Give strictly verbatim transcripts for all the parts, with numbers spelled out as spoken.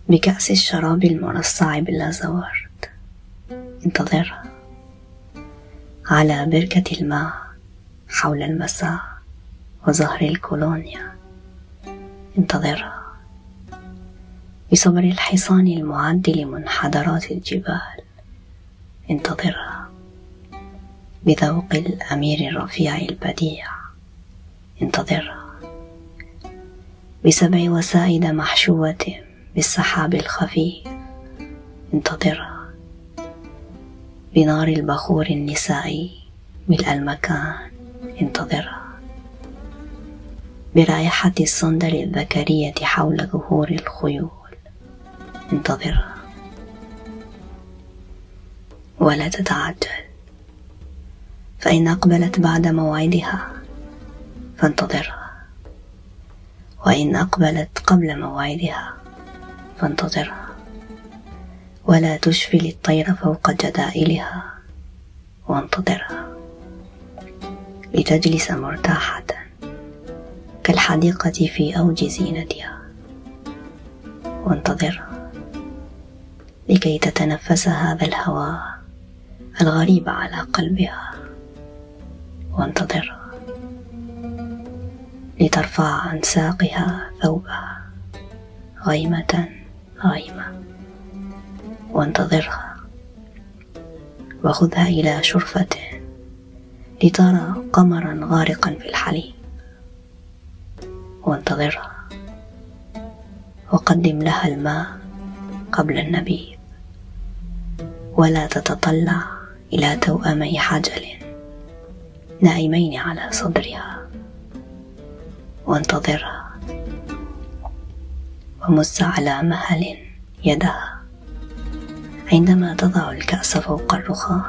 بكأس الشراب المرصع باللازورد انتظرها، على بركة الماء حول المساء وزهر الكولونيا انتظرها، بصبر الحصان المعد لمنحدرات الجبال انتظرها، بذوق الأمير الرفيع البديع انتظرها، بسبع وسائد محشوة بالسحاب الخفيف انتظرها، بنار البخور النسائي ملء المكان انتظرها، برائحة الصندل الذكرية حول ظهور الخيول انتظرها. ولا تتعجل، فإن أقبلت بعد موعدها فانتظرها، وإن أقبلت قبل موعدها فانتظرها. ولا تشفل الطير فوق جدائلها وانتظرها، لتجلس مرتاحة كالحديقة في أوج زينتها وانتظرها، لكي تتنفس هذا الهواء الغريب على قلبها وانتظرها، لترفع عن ساقها ثوبها غيمة غيمة وانتظرها، وخذها إلى شرفة لترى قمرا غارقا في الحليب وانتظرها، وقدم لها الماء قبل النبيذ، ولا تتطلع إلى توأمي حجل نائمين على صدرها وانتظرها، ومس على مهل يدها عندما تضع الكأس فوق الرخام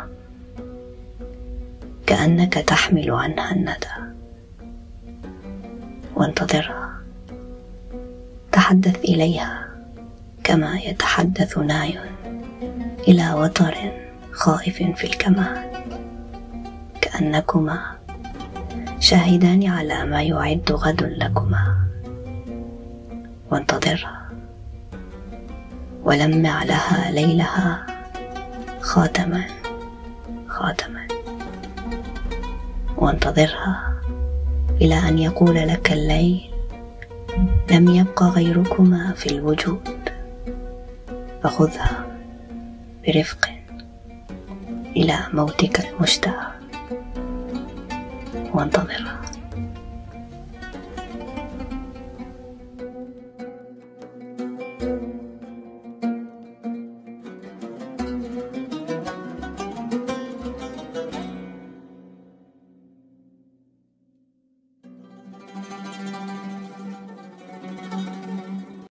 كأنك تحمل عنها الندى وانتظرها، تحدث إليها كما يتحدث ناي إلى وتر خائف في الكمان، كأنكما شاهدان على ما يعد غد لكما وانتظرها، ولمع لها ليلها خاتما خاتما وانتظرها إلى أن يقول لك الليل لم يبق غيركما في الوجود، فخذها برفق إلى موتك المشتهى وانتظرها.